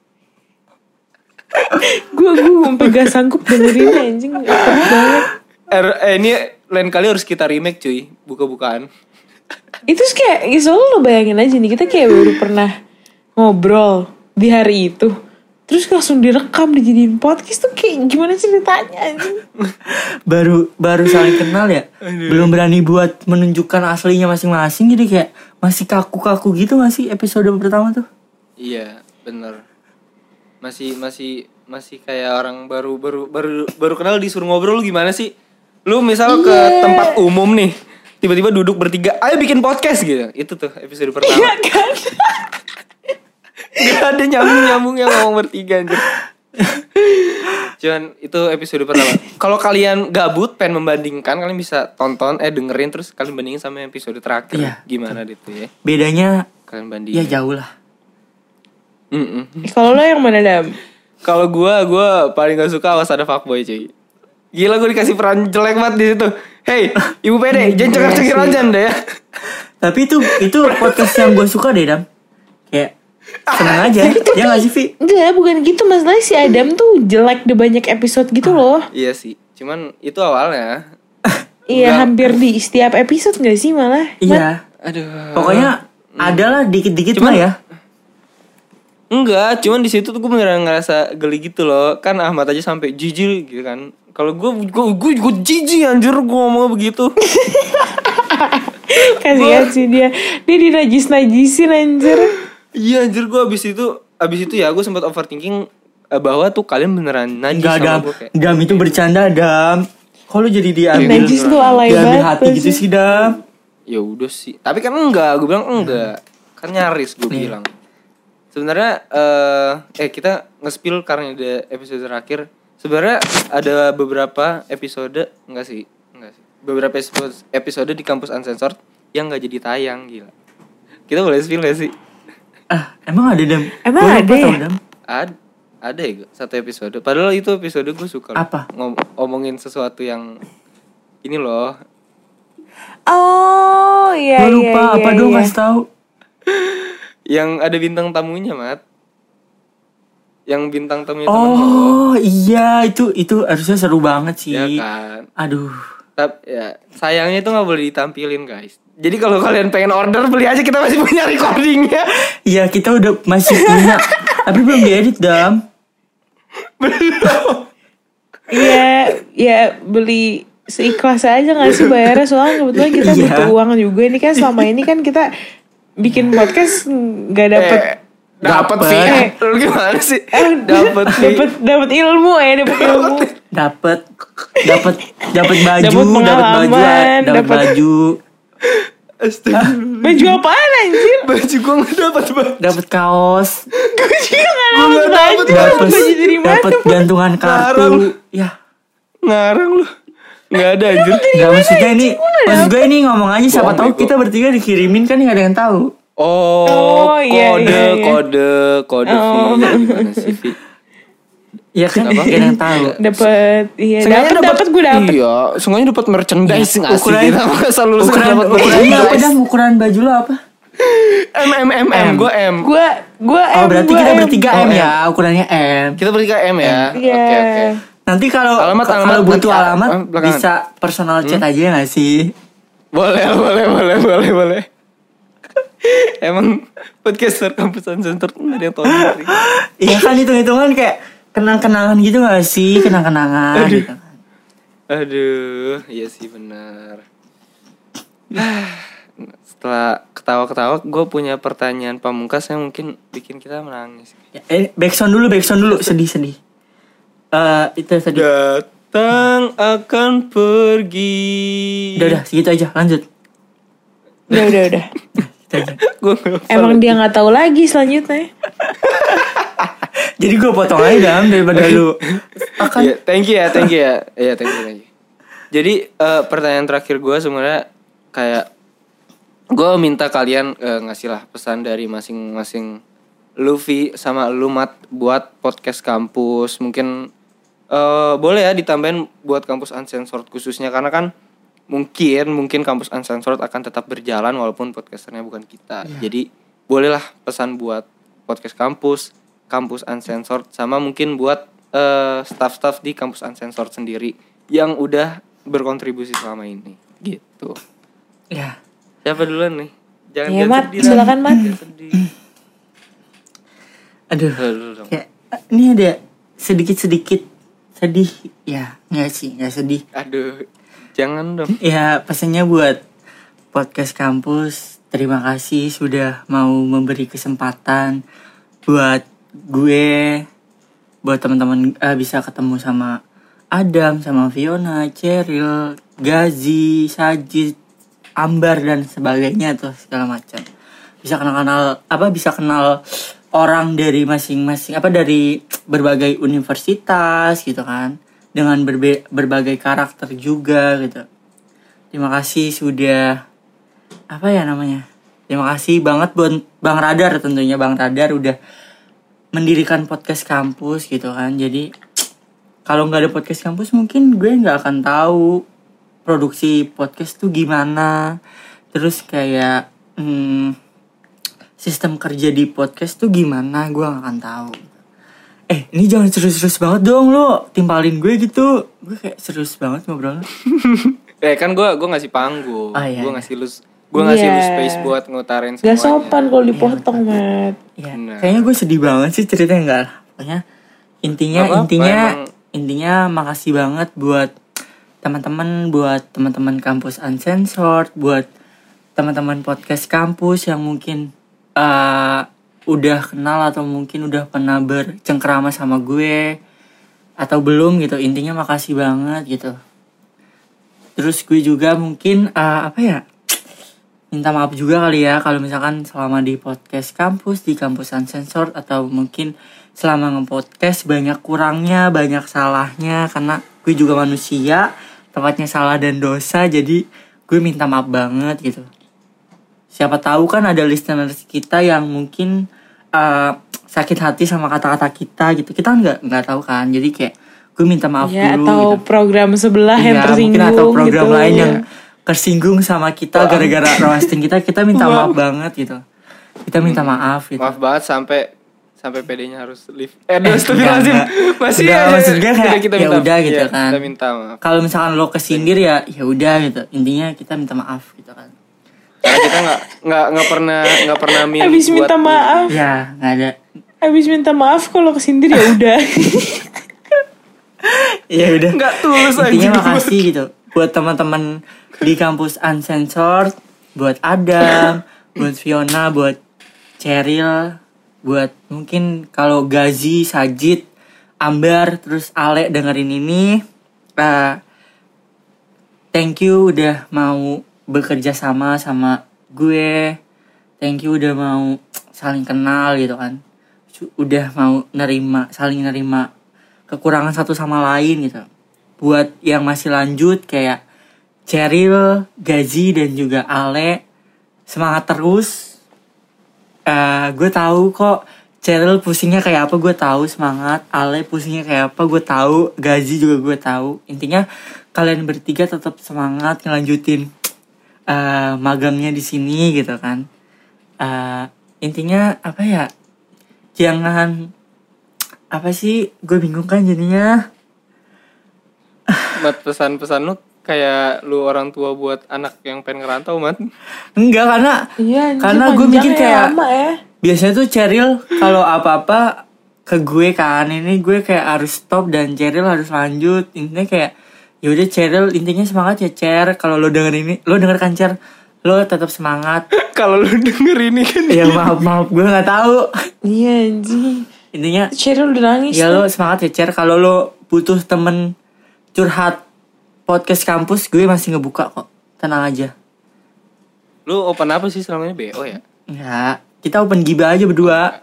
Gue gue sampai gak sanggup dengerin anjing, awkward banget. Er, eh, ini lain kali harus kita remake cuy, buka-bukaan. Itu sih kayak, ya soalnya lo bayangin aja nih, kita kayak baru pernah ngobrol di hari itu. Terus langsung direkam, dijadiin podcast tuh kayak gimana sih ceritanya anjing. baru baru saling kenal ya, belum berani buat menunjukkan aslinya masing-masing, jadi kayak masih kaku-kaku gitu gak sih episode pertama tuh? Iya, bener. Masih masih masih kayak orang baru baru baru baru kenal disuruh ngobrol lu gimana sih? Lu misal ke tempat umum nih, tiba-tiba duduk bertiga, ayo bikin podcast gitu. Itu tuh episode pertama. Iya kan? Gak ada nyambung-nyambungnya ngomong bertiga anjir. Cuman itu episode pertama. Kalau kalian gabut pengen membandingkan, kalian bisa tonton eh dengerin terus kalian bandingin sama episode terakhir. Iya, Gimana gitu ya? Bedanya Kalian bandingin. ya jauh lah. Mm-mm. Kalau lo yang mana, Dam? Kalau gua gua paling gak suka awas ada fuckboy cuy. Gila gue dikasih peran jelek banget di situ. Hey, Ibu Pede, jangan cekak-cekir aja deh ya. Tapi itu itu podcast yang gue suka deh, Dam. Kayak seneng aja. Ya gak sih, Vi? Enggak, bukan gitu. Masalahnya si Adam tuh jelek di banyak episode gitu loh. Iya sih, cuman itu awalnya. Iya, Enggak. hampir di setiap episode gak sih malah? Iya. Aduh. Pokoknya ada lah dikit-dikit Cuman- mah ya. Enggak, cuman di situ tuh gue beneran ngerasa geli gitu loh. Kan Ahmad aja sampai jijik gitu kan. Kalau gue gue gue gue jijik anjir gue ngomong begitu. Kasihan sih dia. Dia dinajis-najisin anjir. Iya anjir gue abis itu abis itu ya gue sempat overthinking eh, bahwa tuh kalian beneran najis Enggak, sama Dam. gue kayak. Dam itu bercanda, Dam. Kok lu jadi diambil Najis tuh alay diambil banget hati gitu sih, Dam? Ya udah sih. Tapi kan enggak, gue bilang enggak. Kan nyaris gue Iya. bilang. Sebenarnya eh eh kita nge-spill karena ada episode terakhir. Sebenarnya ada beberapa episode enggak sih? Enggak sih. Beberapa episode, episode di kampus Uncensored yang enggak jadi tayang, gila. Kita boleh spill gak sih? Ah, emang ada, Dam? Emang Gua lupa ada tau, ya? Dam. Ad, ada ya Go, satu episode. Padahal itu episode gue suka loh. Apa? Ngom- ngomongin sesuatu yang ini loh. Oh iya Gua iya lupa iya, apa dong, iya. kasih tahu. Yang ada bintang tamunya, Mat. Yang bintang tamunya temen lo. Oh, iya, itu itu harusnya seru banget sih. Ya kan. Aduh. Tapi ya sayangnya itu nggak boleh ditampilin guys. Jadi kalau kalian pengen order beli aja, kita masih punya recordingnya. Iya kita udah masih punya, tapi belum diedit Dam. Belum. Iya, ya beli seikhlas aja nggak sih bayarnya, soalnya kebetulan kita Iya. butuh uang juga. Ini kan selama ini kan kita bikin podcast nggak dapet Eh, dapat Dapet. sih. Eh. Lu gimana sih? eh, Dapat sih. dapet dapet ilmu ya, dapet ilmu. Dapat dapat dapat baju, Dapet dapat baju, pengalaman, dapat dapet- baju, Astagfirullah. Baju apaan anjir? Baju gue gak dapat baju. dapat kaos, Gue juga nggak Gua dapet nggak baju. dapet dapat Baju dari mana? dapat gantungan Larang. kartu. Ya, Ngarang lu. Gak ada anjir. nggak maksudnya ini, maksud gue ini ngomong aja siapa Bohong, tahu bego. kita bertiga dikirimin kan nggak ada yang tahu. Oh, Oh, iya, kode, iya, iya. kode, kode Oh. V. Gimana sih V? Ya kan Apa? nggak ada yang tahu. Dapet, iya Seenggaknya dapet dapet gue dapet. Iya, seenggaknya dapat merchandise Iya, nggak sih? ukuran- Kita masa lulus Ukuran dapat ukurannya apa merchandise? Dam? Ukuran baju lo apa? M M M M, gue M. Gue gue Oh berarti gua kita M. bertiga Oh, M M. ya, ukurannya M. Kita bertiga M ya. Iya. Oke oke. Nanti kalau Alamat, kalau alamat, butuh nanti, alamat ah, belakangan. bisa personal chat aja nggak sih? Boleh boleh boleh boleh boleh. Emang podcaster kampusan center tuh nggak ada yang tahu sendiri. Iya kan hitung-hitungan kayak kenang-kenangan gitu gak sih? Kenang-kenangan Aduh. gitu. Aduh, iya sih benar. Setelah ketawa-ketawa, gue punya pertanyaan pamungkas yang mungkin bikin kita menangis. Ya, eh, backsound dulu, backsound dulu. Sedih-sedih. Eh itu tadi. Datang akan pergi. Udah, udah, segitu aja. Lanjut. Udah udah udah. Segitu aja. Gue nggak Emang dia nggak tahu lagi selanjutnya. Jadi gue potong aja Dam daripada lu. Akan Iya, thank you ya, thank you ya. Iya, thank you, thank you. Jadi eh, pertanyaan terakhir gue sebenarnya kayak gue minta kalian eh, ngasih lah pesan dari masing-masing Luffy sama lu Mat buat podcast kampus. Mungkin eh, boleh ya ditambahin buat kampus uncensored khususnya karena kan mungkin mungkin kampus uncensored akan tetap berjalan walaupun podcasternya bukan kita. Jadi bolehlah pesan buat podcast kampus, kampus uncensored sama mungkin buat eh, staff-staff di kampus uncensored sendiri yang udah berkontribusi selama ini gitu. ya. Siapa duluan nih? Jangan Ya jangan Mat, sedih, silakan Mat. Jangan sedih. Aduh. Dulu, dulu dong. Kayak ini ada sedikit-sedikit sedih. Ya, enggak sih, enggak sedih. Aduh, jangan dong. Ya pesannya buat podcast kampus, terima kasih sudah mau memberi kesempatan buat gue, buat teman-teman eh, bisa ketemu sama Adam, sama Fiona, Cheryl, Gazi, Sajid, Ambar dan sebagainya tuh segala macam. Bisa kenal-kenal apa bisa kenal orang dari masing-masing apa dari berbagai universitas gitu kan, dengan berbe- berbagai karakter juga gitu. Terima kasih sudah apa ya namanya? Terima kasih banget buat Bang Radar tentunya Bang Radar udah mendirikan podcast kampus gitu kan. Jadi kalau nggak ada podcast kampus mungkin gue nggak akan tahu produksi podcast tuh gimana. Terus kayak hmm, sistem kerja di podcast tuh gimana gue nggak akan tahu. Eh ini jangan serius-serius banget dong lo timpalin gue gitu. Gue kayak serius banget ngobrol. Eh kan gue gue ngasih panggung, Oh, iya, gue iya. ngasih lu gue ngasih lu Iya. space buat ngutarin semuanya. Gak sopan kalau dipotong Mat. Ya, Benar. kayaknya gue sedih banget sih ceritanya enggak lah. Pokoknya intinya Nggak apa-apa, intinya emang. intinya makasih banget buat teman-teman, buat teman-teman kampus uncensored, buat teman-teman podcast kampus yang mungkin uh, udah kenal atau mungkin udah pernah bercengkrama sama gue atau belum gitu. Intinya makasih banget gitu. Terus gue juga mungkin uh, apa ya? Minta maaf juga kali ya kalau misalkan selama di podcast kampus, di kampus uncensored atau mungkin selama nge-podcast banyak kurangnya, banyak salahnya karena gue juga manusia, tempatnya salah dan dosa, jadi gue minta maaf banget gitu. Siapa tahu kan ada listeners kita yang mungkin uh, sakit hati sama kata-kata kita gitu. Kita kan nggak nggak tahu kan, jadi kayak gue minta maaf Ya dulu. atau gitu. program sebelah yang Iya, tersinggung mungkin atau program gitu. lain Ya. yang tersinggung sama kita gara-gara roasting kita, kita minta maaf banget gitu. Kita minta maaf gitu. Maaf banget sampai sampai P D-nya harus leave. Eh, aduh, astagfirullahaladzim. Masih Udah, aja. maksudnya kayak, Udah, kita ya minta, udah gitu ya, kan. Kita minta maaf. Kalau misalkan lo kesindir ya ya udah gitu. Intinya kita minta maaf gitu kan. Karena kita nggak nggak nggak pernah nggak pernah milih Habis buat minta maaf. Ya nggak ada. Habis minta maaf kalau kesindir ya udah. Ya udah. nggak tulus aja. Intinya makasih gitu buat teman-teman di kampus Uncensored, buat Adam, buat Fiona, buat Cheryl, buat mungkin kalau Gazi, Sajid, Ambar, terus Ale dengerin ini. Uh, thank you udah mau bekerja sama sama gue. Thank you udah mau saling kenal gitu kan. Udah mau nerima, saling nerima kekurangan satu sama lain gitu. Buat yang masih lanjut kayak Cheryl, Gazi dan juga Ale, semangat terus. Uh, gue tahu kok Cheryl pusingnya kayak apa, gue tahu semangat. Ale pusingnya kayak apa, gue tahu. Gazi juga gue tahu. Intinya kalian bertiga tetap semangat ngelanjutin uh, magangnya di sini gitu kan. Uh, intinya apa ya? Jangan apa sih? Gue bingung kan jadinya. Mat, pesan-pesan lu kayak lu orang tua buat anak yang pengen ngerantau, Mat. Enggak, karena Iya, karena gue mikir ya, kayak lama ya. biasanya tuh Cheryl kalau apa-apa ke gue kan, ini gue kayak harus stop dan Cheryl harus lanjut. Intinya kayak ya udah Cheryl, intinya semangat ya Cher. Kalau lo denger ini, lo denger kan Cher, lo tetap semangat. Kalau lu denger ini kan. Ya maaf maaf gue nggak tahu. Iya anjing. Intinya Cheryl udah nangis. ya tuh. lo semangat ya Cher. Kalau lo butuh temen curhat podcast kampus, gue masih ngebuka kok. Tenang aja. Lu open apa sih selama ini? B O ya? Enggak, kita open gibah aja berdua.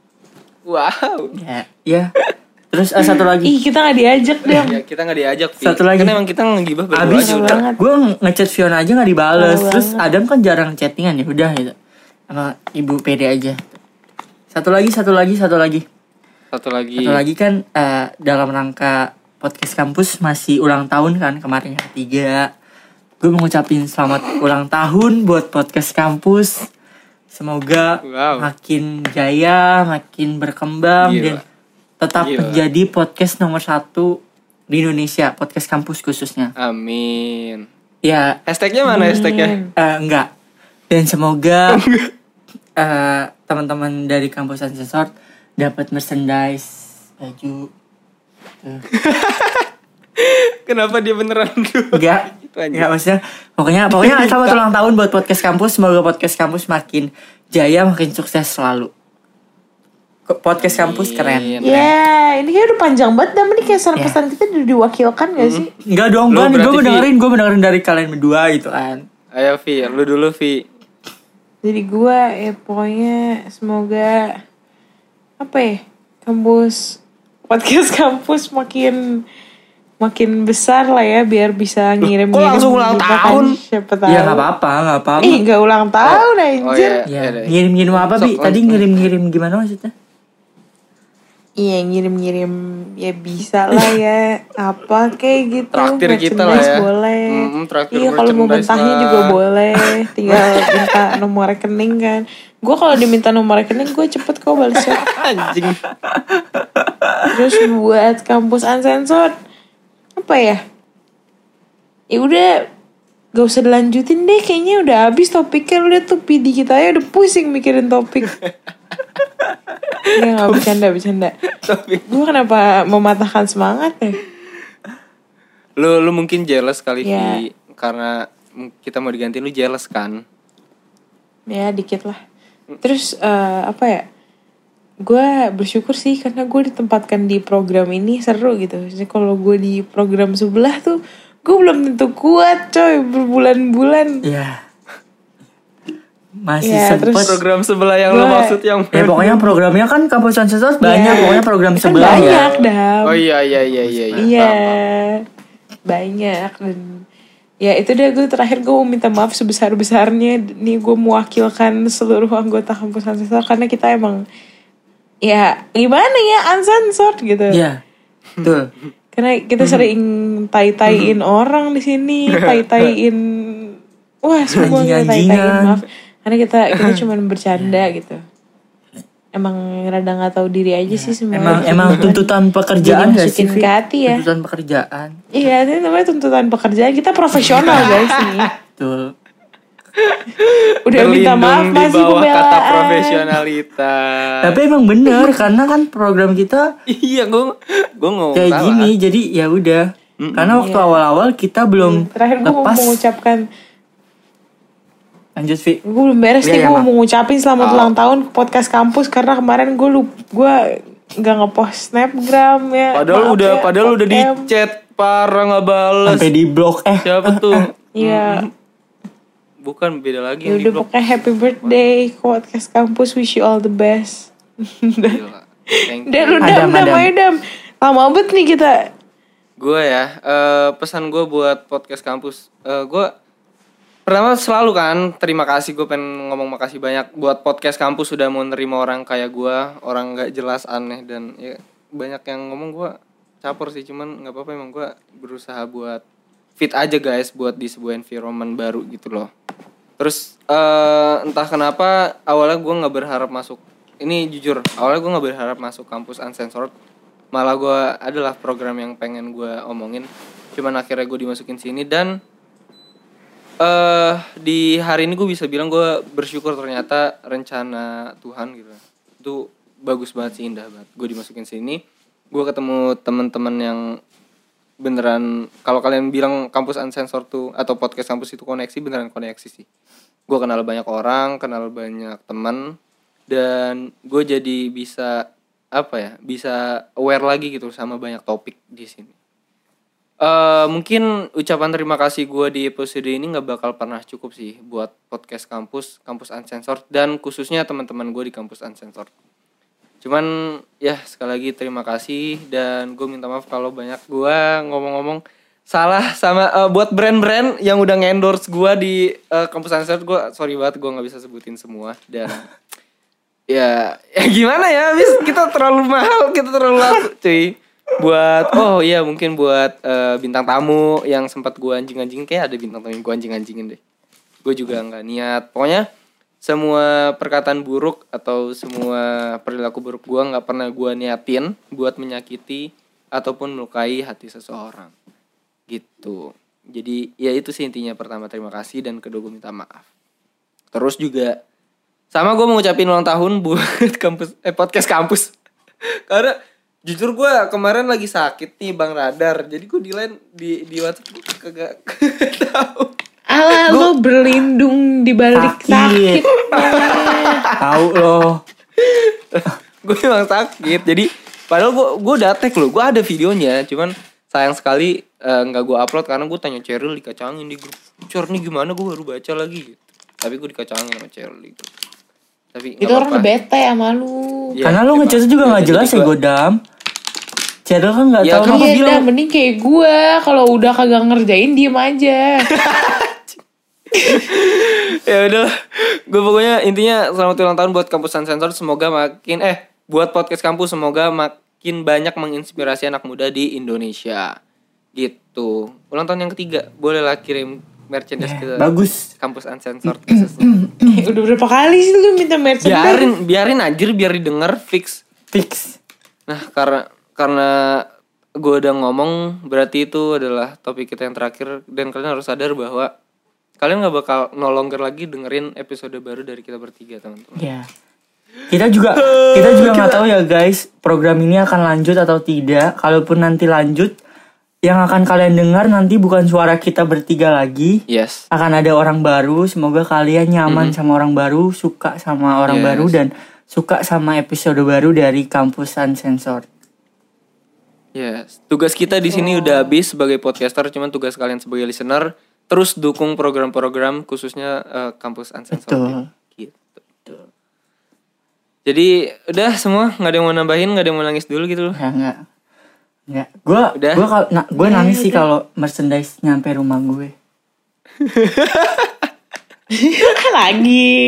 Wow. Ya, ya. Terus uh, satu lagi. Ih, kita gak diajak deh. Ya, kita gak diajak. Fi. Satu lagi. Kan emang kita ngegibah berdua Abis aja udah. banget. gue ngechat Fiona aja gak dibales. Malu Terus banget. Adam kan jarang chattingan ya udah gitu. Sama ibu pede aja. Satu lagi, satu lagi, satu lagi. Satu lagi. Satu lagi kan uh, dalam rangka podcast kampus masih ulang tahun kan kemarin yang ketiga. Gue mau ngucapin selamat ulang tahun buat podcast kampus. Semoga Wow. makin jaya, makin berkembang Gila. dan tetap Gila. menjadi podcast nomor satu di Indonesia, podcast kampus khususnya. Amin. Ya, Hashtagnya mana hashtagnya? eh, enggak. Dan semoga eh, teman-teman dari kampus Uncensored dapat merchandise, baju. Tuh. Kenapa dia beneran dulu? Enggak, Gitu aja. enggak maksudnya. Pokoknya, pokoknya selamat ulang tahun buat podcast kampus. Semoga podcast kampus makin jaya, makin sukses selalu. Kok podcast kampus keren. Amin. Ya, ini kayak udah panjang banget. Dan ini kayak pesan-pesan kita udah diwakilkan gak sih? Enggak dong, Lu gue gue berarti, mendengarin, gue mendengarin dari kalian berdua gitu kan. Ayo Vi, lu dulu Vi. Jadi gue ya pokoknya semoga apa ya, kampus podcast kampus makin makin besar lah ya, biar bisa ngirim-ngirim. kok langsung ulang gitu kan, tahun? siapa tahu. Ya nggak apa-apa, nggak apa-apa. Ih, gak ulang tahun anjir. iya. Ya, deh. ngirim-ngirim apa bi? Sok, Tadi langsung. ngirim-ngirim gimana maksudnya? Iya, ngirim-ngirim ya bisa lah ya. Apa kayak gitu. Traktir kita lah Merchandise ya. boleh. Mm, traktir Iya, kalau mau merchandise mentahnya lah. juga boleh. Tinggal minta nomor rekening kan. Gue kalau diminta nomor rekening gue cepet kok balesnya. Anjing. Terus buat kampus Uncensored apa ya? Ya udah, gak usah dilanjutin deh. Kayaknya udah habis topiknya. Udah tuh P D kita ya udah pusing mikirin topik. Ya gak bercanda bercanda. Tapi Gue kenapa mematahkan semangat ya? lu lu mungkin jealous kali Ya. Vi, karena kita mau diganti lu jealous kan? Ya dikit lah. Terus eh, apa ya? Gue bersyukur sih karena gue ditempatkan di program ini seru gitu. Jadi kalau gue di program sebelah tuh gue belum tentu kuat coy berbulan-bulan. Ya, masih Ya, sempet. terus- Program sebelah yang lu Gua- maksud yang Ya pokoknya programnya kan kampus Uncensored banyak, Ya. pokoknya program Kan sebelah ya. banyak dah. Oh iya iya iya iya. Iya, banyak dan ya itu deh, gue terakhir gue mau minta maaf sebesar-besarnya. Nih gue mewakilkan seluruh anggota kampus Uncensored karena kita emang ya gimana ya uncensored gitu. Iya, betul. Karena kita sering tai-taiin orang di sini, tai-taiin wah semua kita tai-taiin, Anjing-anjingan. maaf. Karena kita kita cuma bercanda gitu. emang rada nggak tahu diri aja sih semua. Emang emang tuntutan pekerjaan gak sih? Masukin ke hati ya. Tuntutan pekerjaan. Iya, itu namanya tuntutan pekerjaan. Kita profesional guys nih. Betul. Udah minta maaf Berlindung masih di bawah kata pembelaan. profesionalitas. Tapi emang bener karena kan program kita Iya, gue gue ngomong kayak salah. gini, jadi ya udah. Karena waktu Iya. awal-awal kita belum Terakhir gue mau lepas. mengucapkan, Lanjut Vi. gue belum beres Iya, nih. iya, Gue mau Mak. mengucapin selamat Oh. ulang tahun ke podcast kampus karena kemarin gue lup, gue nggak ngepost snapgram ya. Padahal Maaf udah ya, padahal udah di podcast. chat parah nggak bales. Sampai di blok eh Siapa tuh? Iya. Bukan, beda lagi Ya yang di udah blog. pokoknya happy birthday ke podcast kampus, wish you all the best. Gila. Thank Dan you. udah Adam, udah Adam. Adam. Lama banget nih kita. Gue ya, eh, pesan gue buat podcast kampus. Eh, gue pertama selalu kan terima kasih, gue pengen ngomong makasih banyak buat podcast kampus sudah mau nerima orang kayak gue, orang nggak jelas, aneh, dan ya banyak yang ngomong gue caper sih, cuman nggak apa-apa, emang gue berusaha buat fit aja guys buat di sebuah environment baru gitu loh. Terus eh, entah kenapa awalnya gue nggak berharap masuk, ini jujur awalnya gue nggak berharap masuk kampus Uncensored, malah gue adalah program yang pengen gue omongin, cuman akhirnya gue dimasukin sini. Dan eh di hari ini gue bisa bilang gue bersyukur, ternyata rencana Tuhan gitu itu bagus banget sih, indah banget. Gue dimasukin sini, gue ketemu teman-teman yang beneran, kalau kalian bilang kampus Uncensored tuh atau podcast kampus itu koneksi, beneran koneksi sih. Gue kenal banyak orang, kenal banyak teman, dan gue jadi bisa apa ya, bisa aware lagi gitu sama banyak topik di sini. Uh, mungkin ucapan terima kasih gue di episode ini nggak bakal pernah cukup sih buat podcast kampus, kampus Uncensored, dan khususnya teman-teman gue di kampus Uncensored. Cuman ya sekali lagi terima kasih, dan gue minta maaf kalau banyak gue ngomong-ngomong salah sama uh, buat brand-brand yang udah nge-endorse gue di uh, kampus Uncensored. Gue sorry banget, gue nggak bisa sebutin semua, dan ya ya gimana ya, abis kita terlalu mahal, kita terlalu laku cuy. Buat oh iya mungkin buat uh, bintang tamu yang sempat gue anjing-anjingin, kayak ada bintang tamu yang gue anjing-anjingin deh. Gue juga nggak niat, pokoknya semua perkataan buruk atau semua perilaku buruk gue nggak pernah gue niatin buat menyakiti ataupun melukai hati seseorang gitu. Jadi ya itu sih intinya. Pertama terima kasih, dan kedua gue minta maaf. Terus juga sama gue mau ngucapin ulang tahun buat kampus eh podcast kampus. Karena jujur gue kemarin lagi sakit nih Bang Radar, jadi gue di line di di WhatsApp gue kagak tahu. Alah, lo berlindung di balik Sakit. sakit. tahu loh. Gue emang sakit, jadi padahal gue gue udah tag loh, gue ada videonya, cuman sayang sekali nggak uh, gue upload karena gue tanya Cheryl, dikacangin di grup. Cor nih gimana, gue baru baca lagi gitu. Tapi gue dikacangin sama Cheryl gitu. Tapi Itu orang udah bete sama lu. Ya, Karena lu ngechat juga nggak jelas ya Godam. Cheryl kan nggak Ya, tahu. kan Apa Iya, bilang dah mending kayak gue. Kalau udah kagak ngerjain diem aja. Ya udah, gue pokoknya intinya selamat ulang tahun buat kampus Uncensored. Semoga makin eh buat podcast kampus semoga makin banyak menginspirasi anak muda di Indonesia gitu. Ulang tahun yang ketiga, bolehlah kirim merchandise ke bagus. kampus Uncensored khususnya. Eh, udah berapa kali sih lu minta merchandise? biarin biarin anjir, biar didengar fix. Fix. Nah karena karena gue udah ngomong, berarti itu adalah topik kita yang terakhir, dan kalian harus sadar bahwa kalian gak bakal no longer lagi dengerin episode baru dari kita bertiga, teman-teman. Ya. Kita juga kita juga nggak tahu ya guys, program ini akan lanjut atau tidak. Kalaupun nanti lanjut, yang akan kalian dengar nanti bukan suara kita bertiga lagi. Yes. Akan ada orang baru. Semoga kalian nyaman mm-hmm. sama orang baru, suka sama orang Yes. baru, dan suka sama episode baru dari Kampus Uncensored. Yes. Tugas kita di sini udah habis sebagai podcaster, cuman tugas kalian sebagai listener terus dukung program-program khususnya uh, Kampus Uncensored. Betul. Gitu. Betul. Jadi udah semua, nggak ada yang mau nambahin, nggak ada yang mau nangis dulu gitu loh. Ya enggak. Enggak. Gue Udah. gue kalau na, gue nangis sih kalau merchandise nyampe rumah gue. Lagi.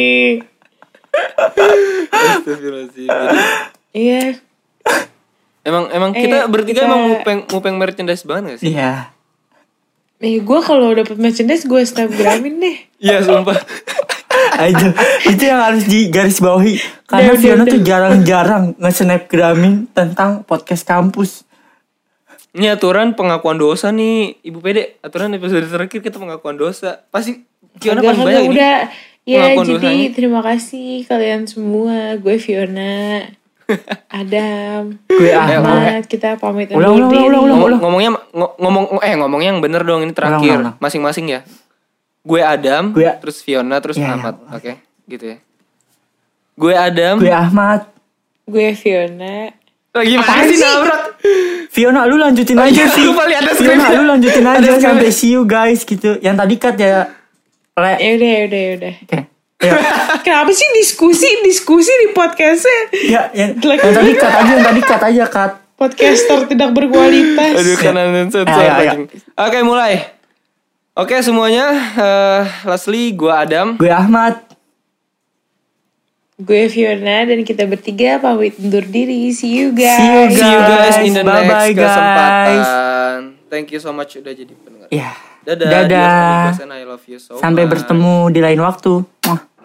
Astagfirullahaladzim. Jadi, Iya. emang emang Eh, kita bertiga kita- emang mupeng mupeng merchandise banget gak sih? Iya. Eh, gue kalau dapet merchandise gue snapgramin deh. Iya sumpah. itu itu yang harus digarisbawahi karena Udah, Fiona udah, tuh udah. jarang-jarang nge-snapgramin tentang podcast kampus. Ini aturan pengakuan dosa nih, Ibu Pede. Aturan episode terakhir kita pengakuan dosa. Pasti Fiona Kagak, paling kagak, banyak ini. udah. Ya pengakuan jadi dosanya. terima kasih kalian semua. Gue Fiona, Adam, Gue Ahmad. Kita pamit Ulang, undur ulang, diri. ulang, ulang, Ngomong, ngomongnya ngo- ngomong eh ngomongnya yang bener dong ini terakhir. Ulang, ulang, ulang. Masing-masing ya. Gue Adam, Gue- terus Fiona, terus Ya, ya. Ahmad. Oke, gitu ya. Gue Adam. gue Ahmad. Gue Fiona. Lagi Apaan mana sih sih? nabrak? Fiona lu lanjutin Oh, aja iya, sih. lupa lihat ada Fiona skripnya. lu lanjutin Ada aja skripnya. sampai see you guys gitu. Yang tadi cut ya. Le. Ya udah, ya udah, ya udah. Oke. Ya. Kenapa sih diskusi diskusi di podcastnya? Ya, yang, Jelek yang tadi banget. cut aja, yang tadi cut aja cut. Podcaster tidak berkualitas. Aduh kanan sensor. Ayo, ayo. anjing. Oke, mulai. Oke semuanya, eh lastly gue Adam. Gue Ahmad. Gue Fiona dan kita bertiga pamit undur diri. See you guys. See you See you guys in the Bye-bye, next guys. kesempatan. Thank you so much udah jadi pendengar. Ya. Dadah. Dadah. dear amigos, and I love you so Sampai much. bertemu di lain waktu. Mwah.